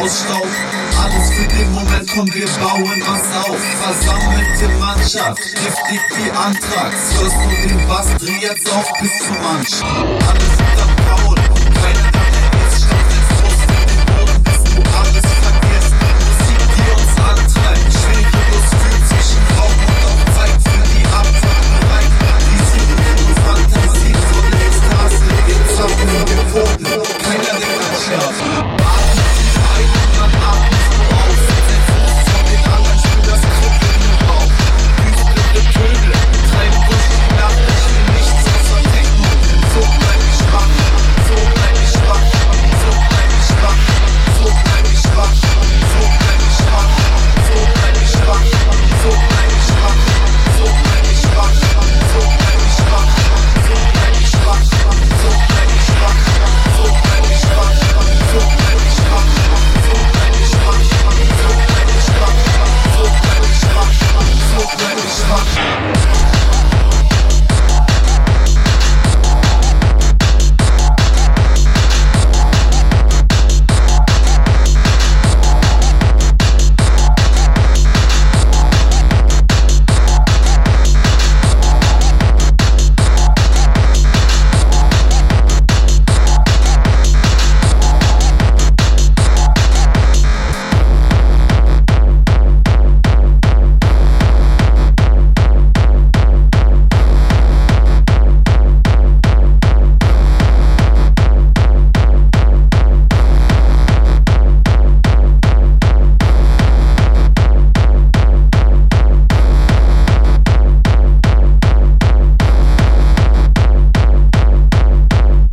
aus Staub. Alles für den Moment, komm, wir bauen was auf. Versammelte Mannschaft, giftig wie Anthrax. Hörst du den Bass, dreh jetzt auf bis zum Ansch. Alles unter Paul, keiner der ist. Statt den Frust in den Boden, bis du alles vergisst. Musik, die uns antreibt, schwerelos fühlt zwischen Raum und auch Zeit für die Abfahrt bereit. Die Sieben und Fantasie vor der Ekstase, wir zappen und wir Pfoten, keiner denkt an Schlaf.